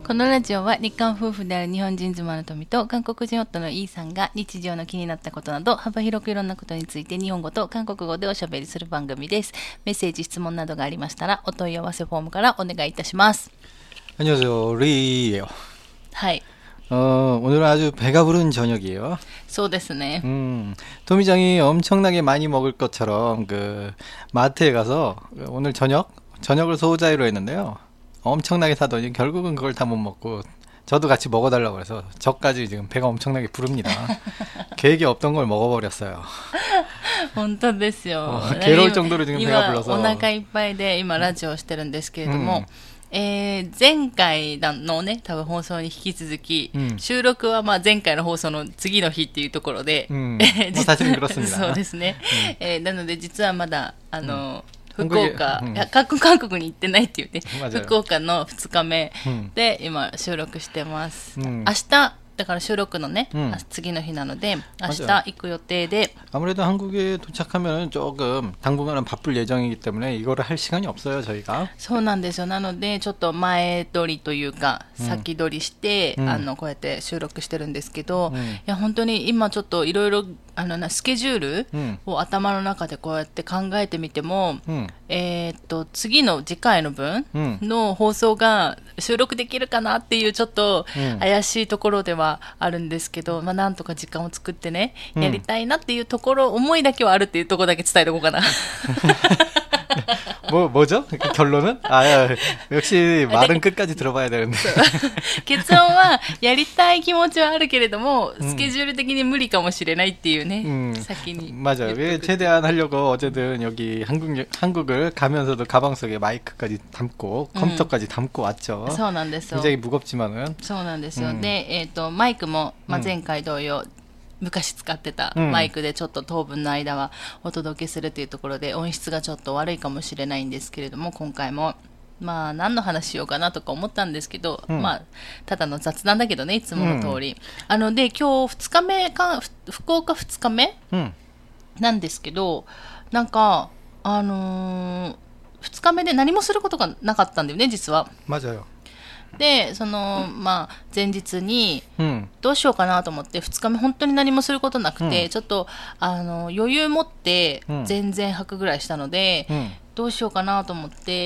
このラジオは日韓夫婦である日本人妻の富と韓国人夫のイーさんが日常の気になったことなど幅広くいろんなことについて日本語と韓国語でおしゃべりする番組です。メッセージ、質問などがありましたらお問い合わせフォームからお願いいたします。 안녕하세요. 리예요. はい。 오늘은 아주 배가 부른 저녁이에요. そうですね。 토미장이 엄청나게 많이 먹을 것처럼 그 마트에 가서 오늘 저녁을 소자이로 했는데요. 엄청나게 사더니 결국은 그걸 다 못 먹고 저도 같이 먹어달라고 해서 저까지 지금 배가 엄청나게 부릅니다. 계획이 없던 걸 먹어버렸어요. 本当ですよ。 괴로울 정도로 지금 배가 今 불러서 お腹いっぱいで今ラジオをしてるんですけれども、前回のね多分放送に引き続き、収録はまあ前回の放送の次の日っていうところで、そうですね。なので実はまだ福岡、韓国に行ってないっていうね、福岡の2日目で今収録してます。明日だから収録のね、次の日なので明日行く予定で。 아무래도 한국에 도착하면 조금 당분간은 바쁠 예정이기 때문에 이거를 할 시간이 없어요, 저희가. そうなんですよ。なのでちょっと前取りというか先取りして、こうやって収録してるんですけど、いや本当に今ちょっといろいろスケジュールを頭の中でこうやって考えてみても、次回の分の放送が収録できるかなっていうちょっと怪しいところではあるんですけど、なんとか時間を作ってね、やりたいなっていうところ、思いだけはあるっていうところだけ伝えておこうかな。 뭐죠? 결론은? 역시 말은 끝까지 들어봐야 되는데. 結論はやりたい気持ちはあるけれどもスケジュール的に無理かもしれないっていうね、先に 맞아요. 최대한 하려고 어쨌든 여기 한국을 가면서도 가방 속에 마이크까지 담고 컴퓨터까지 담고 왔죠. そうなんですよ。 굉장히 무겁지만은. そうなんですよ。で、マイクも、前回同様、昔使ってたマイクでちょっと当分の間はお届けするというところで音質がちょっと悪いかもしれないんですけれども、今回も何の話しようかなとか思ったんですけど、ただの雑談だけどね、いつもの通り。で今日2日目か、福岡2日目、なんですけど、なんか2日目で何もすることがなかったんだよね、実は。 맞아요. で前日にどうしようかなと思って2日目本当に何もすることなくて、ちょっと余裕持って全然吐くぐらいしたので、どうしようかなと思って、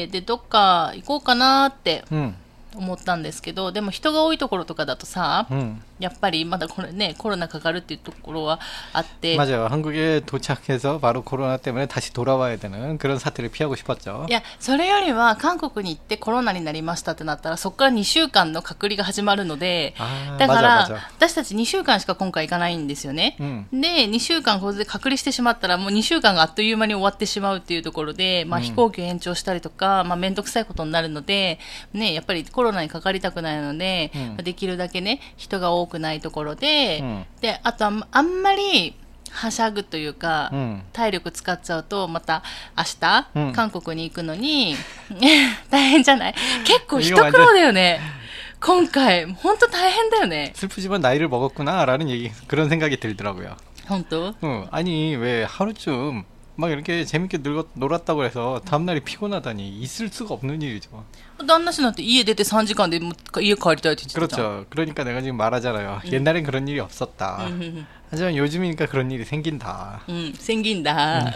でどっか行こうかなって思ったんですけど、でも人が多いところとかだとさ、やっぱりまだこれねコロナかかるっていうところはあって。 맞아요. 한국에 도착해서 바로 코로나 때문에 다시 돌아와야 되는 그런 사태를 피하고 싶었죠. いやそれよりは韓国に行ってコロナになりましたってなったらそこから2週間の隔離が始まるので、だから私たち2週間しか今回行かないんですよね。で2週間これで隔離してしまったらもう2週間があっという間に終わってしまうっていうところで、飛行機を延長したりとか面倒くさいことになるのでね、やっぱりコロナにかかりたくないので、できるだけね人が多くないところで、であとはあんまりはしゃぐというか、体力使っちゃうとまた明日、韓国に行くのに大変じゃない？結構一苦労だよね。今回本当大変だよね。 슬프지만 나이를 먹었구나라는 그런 생각이 들더라고요. 本当? 아니 왜 하루쯤 막 이렇게 재밌게 놀았다고 해서 다음날이 피곤하다니 있을 수가 없는 일이죠. 旦那氏なんて家出て3時間で家帰りたいって言ってたじゃん。 그렇죠. 그러니까 내가 지금 말하잖아요. 옛날엔 그런 일이 없었다. 하지만 요즘이니까 그런 일이 생긴다. 생긴다.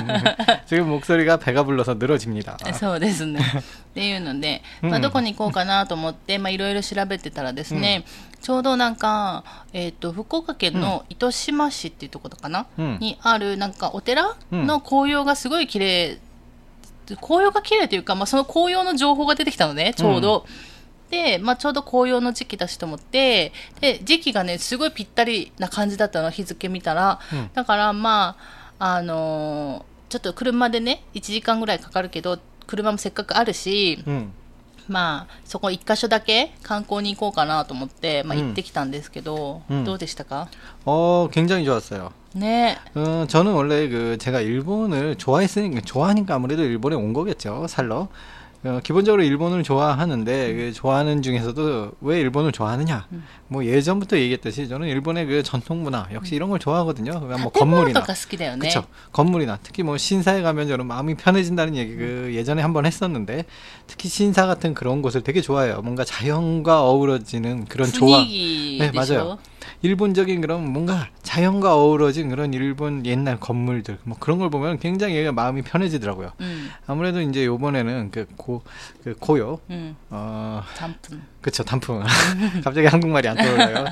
지금 목소리가 배가 불러서 늘어집니다. そうですね。っていうので、どこに行こうかなと思っていろいろ調べてたらですね、ちょうどなんか福岡県の糸島市っていうところかな、にあるなんかお寺の紅葉がすごい綺麗、紅葉が綺麗というか、その紅葉の情報が出てきたのね、ちょうど。で、ちょうど紅葉の時期だしと思って、で時期がねすごいぴったりな感じだったの、日付見たら。だからちょっと車でね1時間ぐらいかかるけど車もせっかくあるし、そこ1箇所だけ観光に行こうかなと思って、行ってきたんですけど、どうでしたか？ 굉장히 좋았어요. 네. 저는 원래 제가 일본을 좋아하니까 아무래도 일본에 온 거겠죠, 살러. 기본적으로 일본을 좋아하는데 그 좋아하는 중에서도 왜 일본을 좋아하느냐? 뭐 예전부터 얘기했듯이 저는 일본의 그 전통 문화 역시 이런 걸 좋아하거든요. 뭐 건물이나 그렇죠. 건물이나 특히 뭐 신사에 가면 저는 마음이 편해진다는 얘기 그 예전에 한번 했었는데 특히 신사 같은 그런 곳을 되게 좋아해요. 뭔가 자연과 어우러지는 그런 조화. 네, 맞아요. 일본적인 그런 뭔가 자연과 어우러진 그런 일본 옛날 건물들 뭐 그런 걸 보면 굉장히 마음이 편해지더라고요. 아무래도 이제 요번에는 그 고요 단풍 그쵸 단풍 갑자기 한국말이 안 떠올라요.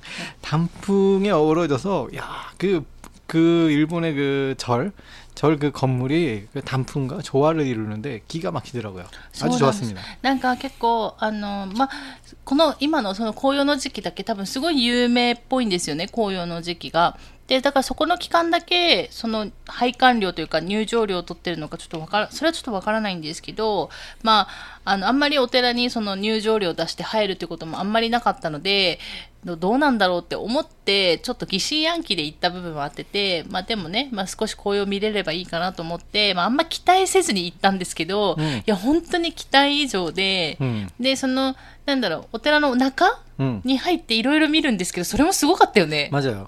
단풍에 어우러져서 야 그 일본의 그 그 건물이 그 단풍과 조화를 이루는데 기가 막히더라고요. 아주 좋았습니다. なんか結構この今のその紅葉の時期だけ多分すごい有名っぽいんですよね、紅葉の時期が。で、だからそこの期間だけ、その拝観料というか入場料を取ってるのかちょっとそれはちょっとわからないんですけど、あんまりお寺にその入場料を出して入るってこともあんまりなかったので、どうなんだろうって思って、ちょっと疑心暗鬼で行った部分はあってて、でもね、少し紅葉見れればいいかなと思って、あんま期待せずに行ったんですけど、いや、本当に期待以上で、で、なんだろう、お寺の中に入っていろいろ見るんですけど、それもすごかったよね。 맞아요.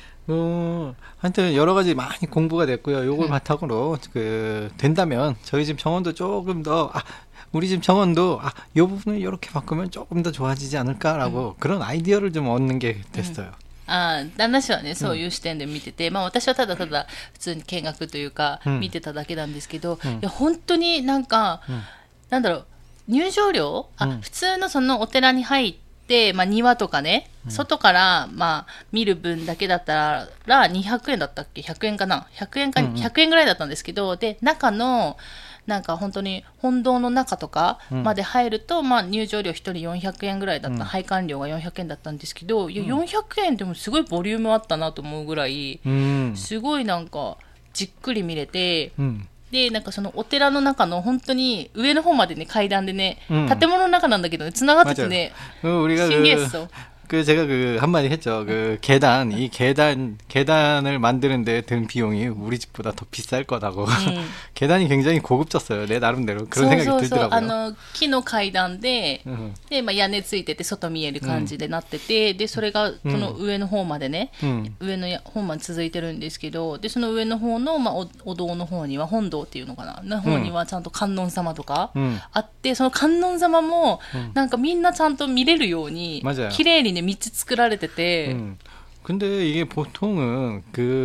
하여튼 여러 가지 많이 공부가 됐고요. 요걸 바탕으로 된다면 저희 집 정원도 조금 더 우리 집 정원도 요 부분을 이렇게 바꾸면 조금 더 좋아지지 않을까라고 그런 아이디어를 좀 얻는 게 됐어요. 旦那氏はね、そういう視点で見てて、私はただただ普通に見学というか見てただけなんですけど、いや本当になんか、なんだろう、入場料、普通のそのお寺に入って、庭とかね、外から、見る分だけだったら200円だったっけ、100円かな、100円ぐらいだったんですけど、で、中の、なんか本当に本堂の中とかまで入ると、入場料1人400円ぐらいだった、拝観料が400円だったんですけど、いや400円でもすごいボリュームあったなと思うぐらい、すごいなんかじっくり見れて、で、なんかそのお寺の中の本当に上の方までね、階段でね、建物の中なんだけどね、繋がっててね、신기했어. 제가 한마디 했죠. 이 계단을 만드는데 든 비용이 우리 집보다 더 비쌀 거다고. 계단이 굉장히 고급졌어요. 내 나름대로. 그런 생각이 들더라고요. 木の階段で、屋根ついてて外見える感じでなってて、で、それがその上の方までね、上の方まで続いてるんですけど、で、その上の方の、お堂の方には、本堂っていうのかな、の方にはちゃんと観音様とかあって、その観音様も、なんかみんなちゃんと見れるように、綺麗にね、道作られてて、 근데 이게 보통은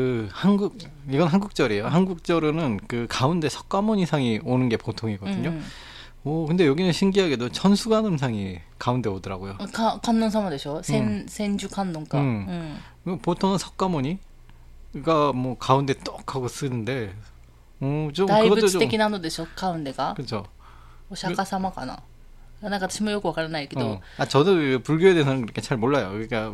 이건 한국절이에요. 한국절은 가운데 석가모니상이 오는 게 보통이거든요. 근데 여기는 신기하게도 천수관음상이 가운데 오더라고요. 관론사마 되죠. 센주 관론가. 보통은 석가모니가 뭐 가운데 떡 하고 쓰는데, 좀 그것도 좀大仏的なのでしょ, 가운데가. 그렇죠. お釈迦様かな.なんか私もよくわからないけど. 저도 불교에 대해서는 그렇게 잘 몰라요. 그러니까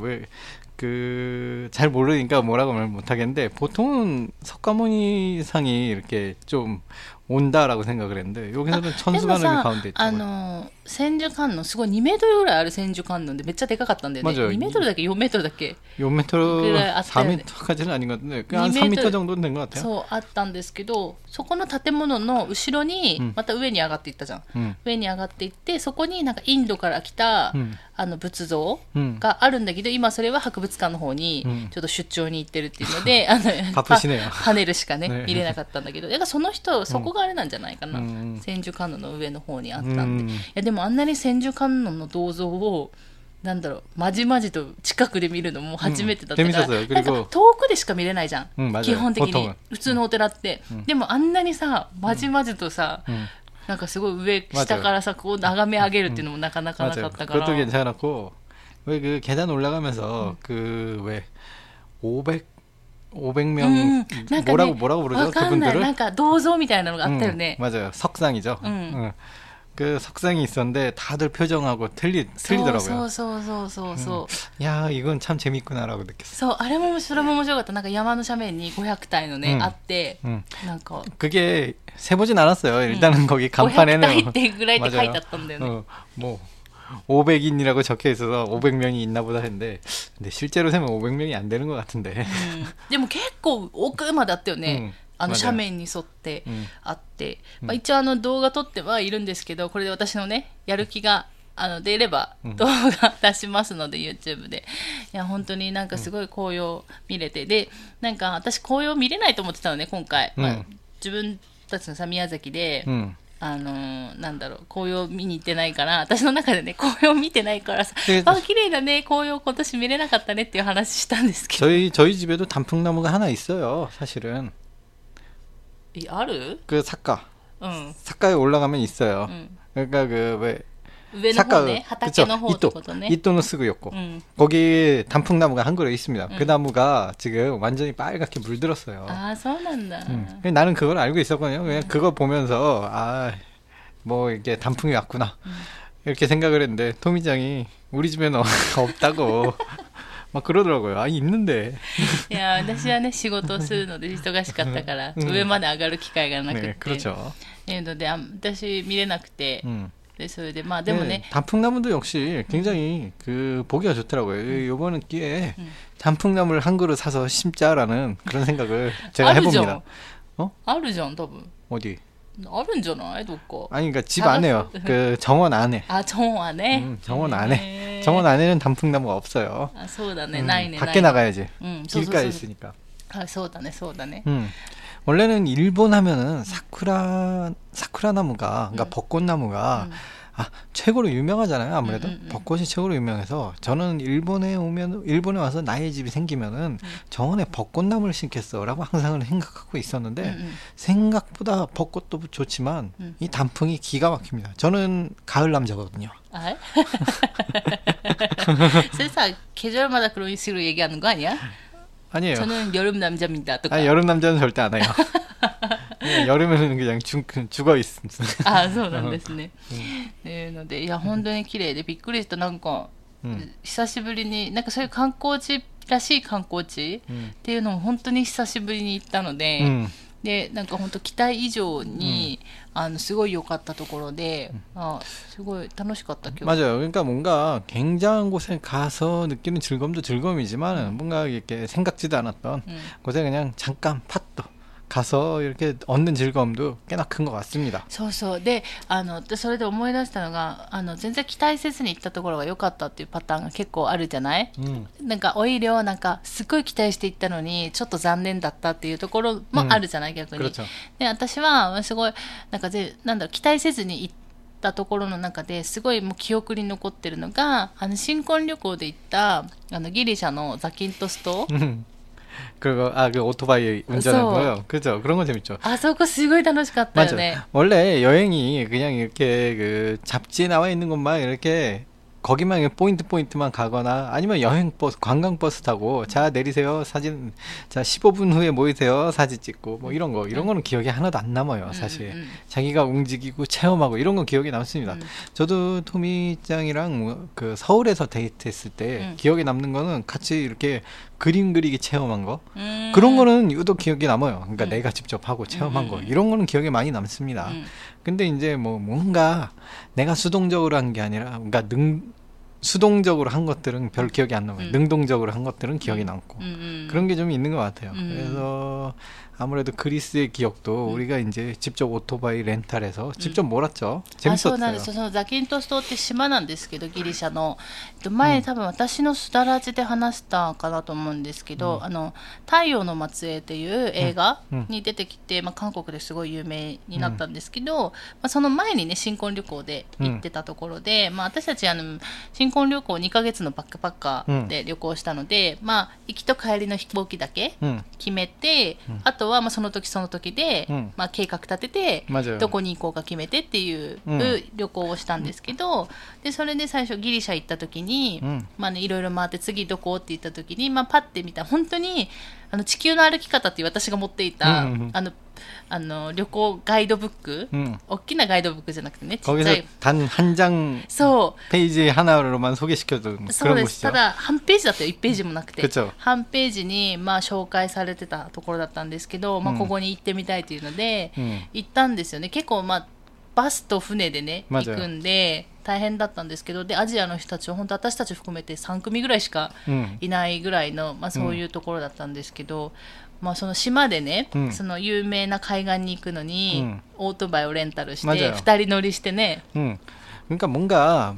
잘 모르니까 뭐라고 말 못하겠는데, 보통은 석가모니상이 이렇게 좀 온다라고 생각을 했는데, 여기서는 천수관음이 가운데 있죠. 千手観音すごい2メートルぐらいある千手観音でめっちゃでかかったんだよね。2メートルだっけ4メートルだっけ 4メートル4メートル까지는 아닌 것 같은데 한 3m 정도는 된 것 같아요. そうあったんですけど、そこの建物の後ろにまた上に上がっていったじゃん、上に上がっていって、そこになんかインドから来た、仏像があるんだけど、今それは博物館の方にちょっと出張に行ってるっていうので、パネルしかね見れなかったんだけど、だからその人そこがあれなんじゃないかな、千手観音の上の方にあったんで。いやでもあんなに千手観音の銅像をなんだろう、まじまじと近くで見るのも初めてだったから、なんか遠くでしか見れないじゃん、基本的に普通のお寺って、でもあんなにさまじまじとさ、なんかすごい上下からさこう眺め上げるっていうのもなかなかなかったから。 그것도 괜찮았고, 왜 계단 올라가면서 왜 500명 뭐라고 부르죠? 그분들을? なんか銅像みたいなのがあったよね。 맞아요. 석상이죠. 석상이 있었는데 다들 표정하고 틀리더라고요. 야, 이건 참 재밌구나라고 느꼈어요. あれもそれも面白かった。なんか山の斜面に500体のね、あって、なんか 그게 세보진 않았어요. 일단은 거기 간판에는 500体ってぐらいって書いてあったんだよね。 뭐 500인이라고 적혀 있어서 500명이 있나 보다 했는데, 근데 실제로 세면 500명이 안 되는 것 같은데. でも結構奥まであったよね。 斜面に沿ってあって、まあ、一応動画撮ってはいるんですけど、これで私のねやる気が出れば動画出しますので、YouTube で。いや本当になんかすごい紅葉見れて、でなんか私紅葉見れないと思ってたのね今回、まあ、自分たちのさ宮崎で、なんだろう、紅葉見に行ってないから、私の中でね紅葉見てないからさ、あ綺麗だね紅葉今年見れなかったねっていう話したんですけど、 저희 집에도 단풍나무가 하나 있어요 사실은. ある？ 그 삿가에 올라가면 있어요. 그러니까 왜 上の方ね、畑の方ってことね。 이또는 쓰고 있고 거기 단풍나무가 한 그루 있습니다. 그 나무가 지금 완전히 빨갛게 물들었어요. 아, そうなんだ. 나는 그걸 알고 있었거든요. 그냥 그거 보면서 뭐 이게 단풍이 왔구나 이렇게 생각을 했는데 토미짱이 우리 집에는 없다고 막 그러더라고요. 있는데. いや私はね仕事をするので忙しかったから上まで上がる機会がなくて、 네, 그렇죠. ので私見れなくて、でそれでまあでもね 단풍나무도 역시 굉장히 그 보기가 좋더라고요. 이번 기회에 단풍나무를 한 그루 사서 심자라는 그런 생각을 제가 해봅니다. あるじゃん多分。 어디? あるんじゃないどっか。 아니 그러니까 집 안에요. 그 정원 안에. 정원 안에? 정원 안에. 정원 안에는 단풍나무가 없어요. そうだね、ないね。 밖에 나가야지. そうそうそう 길가에 있으니까. そうだねそうだね。 원래는 일본 하면은 사쿠라 나무가, 그러니까 벚꽃나무가 최고로 유명하잖아요. 아무래도 벚꽃이 최고로 유명해서 저는 일본에 와서 나의 집이 생기면은 정원에 벚꽃나무를 심겠어라고 항상 생각하고 있었는데 생각보다 벚꽃도 좋지만 이 단풍이 기가 막힙니다. 저는 가을 남자거든요. あれそれさ계절마다 그런 식으로 얘기하는 거 아니야? 아니에요. 저는 여름 남자입니다. 여름 남자는 절대 안 해요. 여름에는 그냥 죽어 있습니다. そうなんですね。のでいや本当に綺麗でびっくりした。なんか、久しぶりになんかそういう観光地らしい観光地っていうのも本当に久しぶりに行ったので、でなんか本当期待以上に、すごい良かったところで、すごい楽しかった今日。 맞아요. 그러니까 뭔가 굉장한 곳에 가서 느끼는 즐거움도 즐거움이지만 뭔가 이렇게 생각지도 않았던 곳에 그냥 잠깐 팟도 가서 이렇게 얻는 즐거움도 꽤나 큰 것 같습니다. そうそうでそれで思い出したのが全然期待せずに行ったところが良かったっていうパターンが結構あるじゃない、なんかオイルをなんかすごい期待して行ったのにちょっと残念だったっていうところもあるじゃない、逆に。で私はすごいなんかなんだろう期待せずに行ったところの中ですごいもう記憶に残ってるのが新婚旅行で行ったギリシャのザキントス島 그리고 그 오토바이 운전하는 거요. 그죠? 그런 거 재밌죠. そこすごい楽しかったよね。 맞아. 원래 여행이 그냥 이렇게 그 잡지에 나와 있는 것만 이렇게 거기만 포인트만 가거나 아니면 여행버스, 관광버스 타고 자 내리세요 사진, 자 15분 후에 모이세요 사진 찍고 뭐 이런 거는 기억이 하나도 안 남아요 사실. 자기가 움직이고 체험하고 이런 건 기억이 남습니다. 저도 토미짱이랑 그 서울에서 데이트했을 때 기억에 남는 거는 같이 이렇게 그림 그리기 체험한 거 그런 거는 유독 기억에 남아요. 그러니까 내가 직접 하고 체험한 거 이런 거는 기억에 많이 남습니다. 근데 이제 뭐 뭔가 내가 수동적으로 한 게 아니라 그러니까 수동적으로 한 것들은 별 기억이 안 남아요. 능동적으로 한 것들은 기억이 남고 그런 게 좀 있는 것 같아요. 그래서 아무래도 그리스의 기억도 우리가 이제 직접 오토바이 렌탈해서 직접 몰았죠. 재밌었어요. そうなんです。そのザキントス島って島なんですけどギリシャの前多分私のすだらじで話したかなと思うんですけど、太陽の末裔っていう映画に出てきて、韓国ですごい有名になったんですけど、その前にね新婚旅行で行ってたところで、私たち新婚旅行2ヶ月のバックパッカーで旅行したので、行きと帰りの飛行機だけ決めて、あとはその時その時で、計画立ててどこに行こうか決めてっていう旅行をしたんですけど、でそれで最初ギリシャ行った時に、いろいろ回って次どこって言った時に、パッて見た本当に地球の歩き方っていう私が持っていた、旅行ガイドブック、大きなガイドブックじゃなくてね、ちっちゃい 단 한 장 페이지 하나로만 소개시켜준 그런 곳이죠. ただ半ページだったよ。1ページもなくて、 그쵸. 半ページに紹介されてたところだったんですけど、ここに行ってみたいというので、行ったんですよね。結構バスと船でね行くんで大変だったんですけど、でアジアの人たちは本当私たち含めて3組ぐらいしかいないぐらいの、そういうところだったんですけど、その島でね、その有名な海岸に行くのに、オートバイをレンタルして2人乗りしてね、 그러니까 뭔가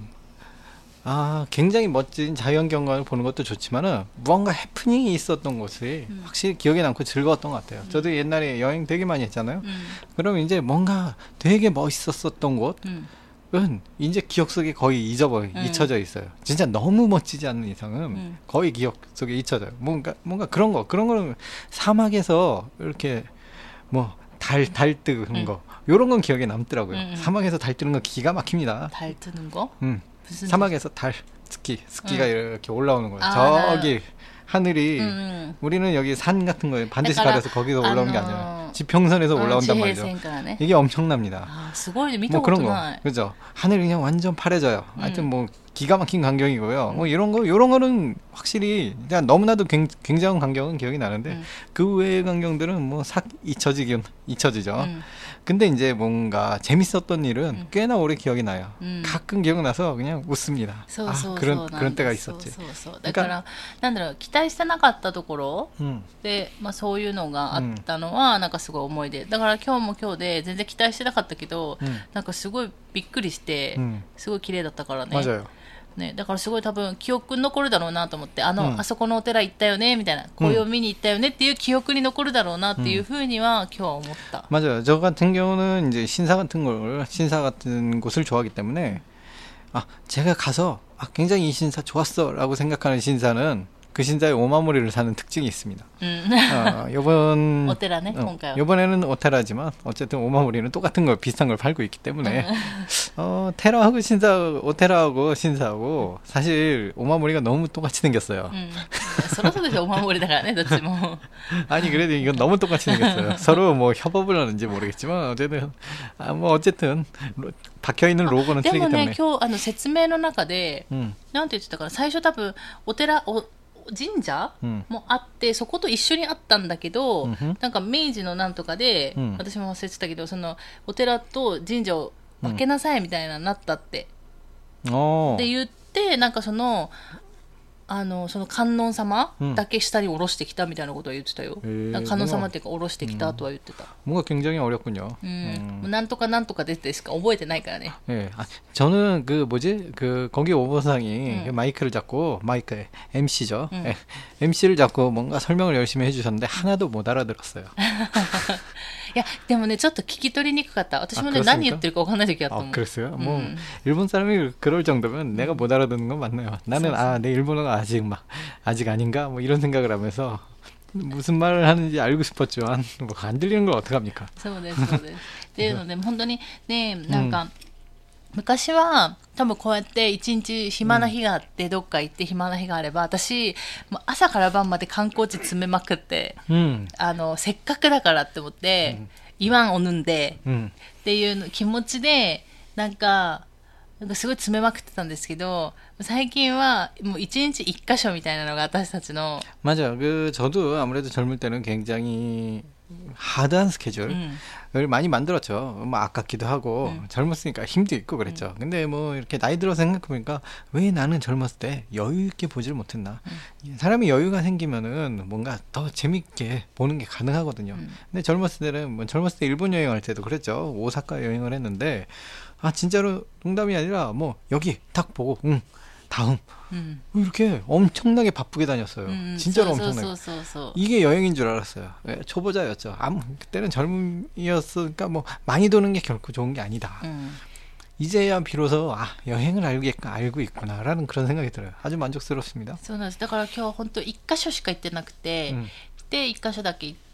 굉장히 멋진 자연 경관을 보는 것도 좋지만은 무언가 해프닝이 있었던 것이 확실히 기억에 남고 즐거웠던 것 같아요. 저도 옛날에 여행 되게 많이 했잖아요. 그러면 이제 뭔가 되게 멋있었었던 곳은 이제 기억 속에 거의 잊혀져 있어요. 진짜 너무 멋지지 않는 이상은 거의 기억 속에 잊혀져요. 뭔가 그런 거는 사막에서 이렇게 뭐 달 뜨는 거 요런 건 기억에 남더라고요. 사막에서 달 뜨는 거 기가 막힙니다. 달 뜨는 거? 사막에서 달 스키가 이렇게 올라오는 거예요. 저기 하늘이 우리는 여기 산 같은 거에 반드시 가려서 거기서 올라오는 게 아니라 지평선에서 올라온단 말이죠. 이게 엄청납니다. 뭐 그런 거, 그죠? 하늘이 그냥 완전 파래져요. 하여튼 뭐 기가 막힌 광경이고요. 뭐 이런 거는 확실히 그냥 너무나도 굉장한 광경은 기억이 나는데 그 외의 광경들은 뭐 싹 잊혀지죠. 근데 이제 뭔가 재밌었던 일은 꽤나 오래 기억이 나요. 가끔 기억나서 그냥 웃습니다. 그런 때가 있었지. 그러니까 なんだろう、期待してなかったところで、そういうのがあったのはなんかすごい思い出。だから今日も今日で全然期待してなかったけど、なんかすごいびっくりして、すごい綺麗だったからね。 맞아요. ね、だからすごい多分記憶に残るだろうなと思って、あそこのお寺行ったよねみたいな、紅葉見に行ったよねっていう記憶に残るだろうなっていうふうには今日は思った。 맞아요. 저 같은 경우는 이제 신사 같은 곳을 좋아하기 때문에 제가 가서 굉장히 이 신사 좋았어라고 생각하는 신사는 그 신사의 오마무리를 사는 특징이 있습니다. 요번 오테라네, 요번에는 오테라지만 어쨌든 오마무리는 똑같은 거 비슷한 걸 팔고 있기 때문에 테라하고 오테라하고 신사하고 사실 오마무리가 너무 똑같이 생겼어요. そろそろでオマモリだからね、どっちも。 아니 그래도 이건 너무 똑같이 생겼어요. 서로 뭐 협업을 하는지 모르겠지만 어쨌든 박혀 있는 로고는 틀리기 때문에. でもね、今日説明の中で、なんて言ってたかな、最初多分お寺神社もあって、そこと一緒にあったんだけど、なんか明治のなんとかで、私も忘れてたけど、そのお寺と神社を分けなさいみたいななったって、で言って、なんかその観音様だけ下に下ろしてきたみたいなことを言ってたよ。観音様っていうか下ろしてきたとは言ってた。 뭔가 굉장히 어렵군요. なんとかなんとかでしか覚えてないからね。 저는 거기 오보상이 마이크를 잡고 MC죠. MC를 잡고 뭔가 설명을 열심히 해주셨는데 하나도 못 알아들었어요. いやでもねちょっと聞き取りにくかった。私もね何言ってるか分かんない時あったもん。 그랬어요? 뭐 일본 사람이 그럴 정도면 내가 못 알아듣는 건 맞네요. 나는 내 일본어가 아직 아닌가 뭐 이런 생각을 하면서 무슨 말을 하는지 알고 싶었지만 뭐 안 들리는 걸 어떡합니까? そうですそうです。っていうので本当にねなんか。昔は多分こうやって一日暇な日があって、どっか行って暇な日があれば私もう朝から晩まで観光地詰めまくって、せっかくだからって思って、이왕 오는데っていう気持ちでなんかすごい詰めまくってたんですけど、最近はもう一日一箇所みたいなのが私たちの。 맞아요. 저도 아무래도 젊을 때는 굉장히 하드한 스케줄을 많이 만들었죠. 뭐 아깝기도 하고 젊었으니까 힘도 있고 그랬죠. 근데 뭐 이렇게 나이 들어서 생각해보니까 왜 나는 젊었을 때 여유 있게 보질 못했나. 사람이 여유가 생기면은 뭔가 더 재밌게 보는 게 가능하거든요. 근데 젊었을 때 일본 여행할 때도 그랬죠. 오사카 여행을 했는데 진짜로 농담이 아니라 뭐 여기 딱 보고 다음 이렇게 엄청나게 바쁘게 다녔어요. 진짜로 엄청나게. 이게 여행인 줄 알았어요. 초보자였죠. 그때는 젊음이었으니까 뭐 많이 도는 게 결코 좋은 게 아니다. 이제야 비로소 여행을 알고 있구나라는 그런 생각이 들어요. 아주 만족스럽습니다. そうなんです。だから今日本当一箇所しか行ってなくて、で一箇所だけ行って、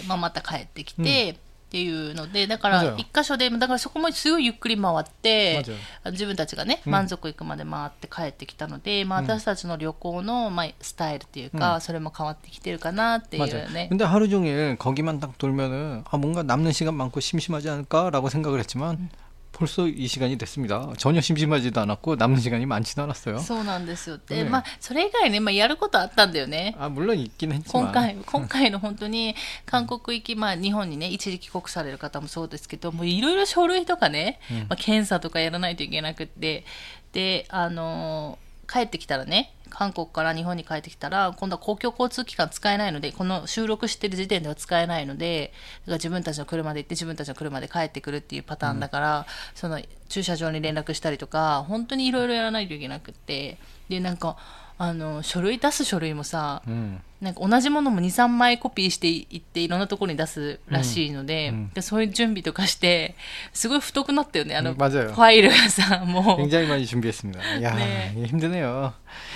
また帰ってきて。っていうので、だから一箇所でだからそこもすごいゆっくり回って自分たちがね満足いくまで回って帰ってきたので、私たちの旅行のスタイルっていうか、それも変わってきてるかなっていうね。 근데 하루 종일 거기만 딱 돌면은 뭔가 남는 시간 많고 심심하지 않을까라고 생각을 했지만 벌써 이 시간이 됐습니다. 전혀 심심하지도 않았고 남는 시간이 많지도 않았어요. そうなんですよ。で、 ね、 まあそれ以外ね、まあやることあったんだよね。 물론 있긴 했지만 今回の本当に韓国行き、まあ日本にね一時帰国される方もそうですけど、もういろいろ書類とかね、まあ検査とかやらないといけなくって、で帰ってきたらね、韓国から日本に帰ってきたら今度は公共交通機関使えないので、この収録してる時点では使えないので、だから自分たちの車で行って自分たちの車で帰ってくるっていうパターンだから、その駐車場に連絡したりとか本当にいろいろやらないといけなくって、でなんか書類出す書類もさ、なんか同じものも 2,3 枚コピーしていっていろんなところに出すらしいので、でそういう準備とかしてすごい太くなったよね、ファイルがさ、もう 굉장히 많이 준비했습니다. 야, 네. 힘드네요.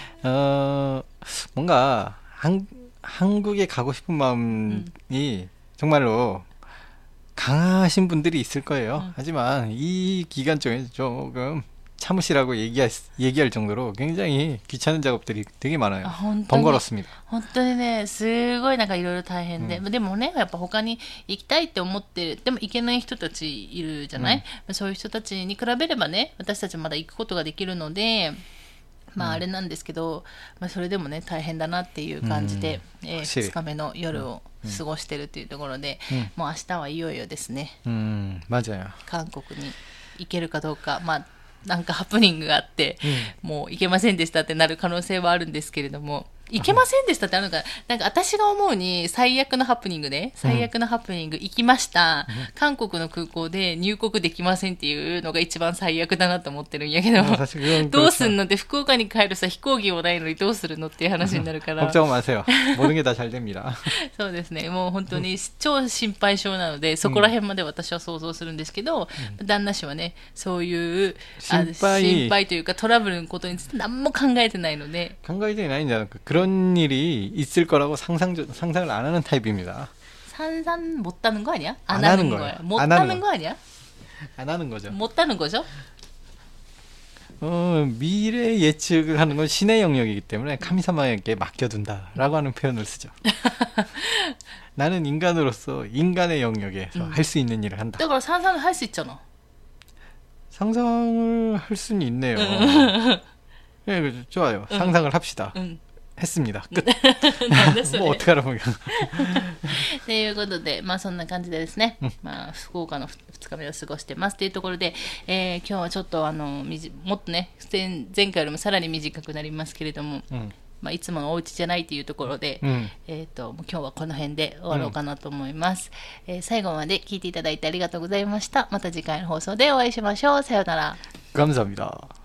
뭔가 한국에 가고 싶은 마음이 정말로 강하신 분들이 있을 거예요. 하지만 이 기간 중에 조금 참으시라고 얘기할 정도로 굉장히 귀찮은 작업들이 되게 많아요. 번거롭습니다. 本当にね、すごいなんかいろいろ大変で、でもね、やっぱ他に行きたいって思ってでも行けない人たちいるじゃない、そういう人たちに比べればね、私たちまだ行くことができるので、まああれなんですけど、まあそれでもね大変だなっていう感じで、2日目の夜を過ごしてるっていうところで、もう明日はいよいよですね。 맞아요. 韓国に行けるかどうか、まあなんかハプニングがあって、もう行けませんでしたってなる可能性はあるんですけれども、行けませんでしたってあるのか、なんか私が思うに最悪のハプニングね、最悪のハプニング行きました、韓国の空港で入国できませんっていうのが一番最悪だなと思ってるんやけど、どうすんのって福岡に帰るさ飛行機もないのにどうするのっていう話になるから。 걱정 마세요. 모든 게 다 잘 됩니다. そうですね、もう本当に超心配性なので、そこら辺まで私は想像するんですけど、旦那氏はね、そういう心配というかトラブルのことについて何も考えてないので。 考えてないんじゃなく、그런 일이 있을 거라고 상상을 안 하는 타입입니다. 상상 못하는 거 아니야? 안 하는 거야. 못하는 거 아니야? 안 하는 거죠. 못하는 거죠? 미래 예측을 하는 건 신의 영역이기 때문에 카미사마에게 맡겨둔다라고 하는 표현을 쓰죠. 나는 인간으로서 인간의 영역에서 할 수 있는 일을 한다. 그러니까 상상을 할 수 있잖아. 상상을 할 수는 있네요. 네, 좋아요. 상상을 합시다. 했습니다. 끝. もう어떻게 하라고. ということで、まあそんな感じでですね、まあ福岡の2日目を過ごしてますというところで、今日はちょっともっとね、前回よりもさらに短くなりますけれども、まあいつものお家じゃないというところで、もう今日はこの辺で終わろうかなと思います。最後まで聞いていただいてありがとうございました。また次回の放送でお会いしましょう。さようなら。 감사합니다.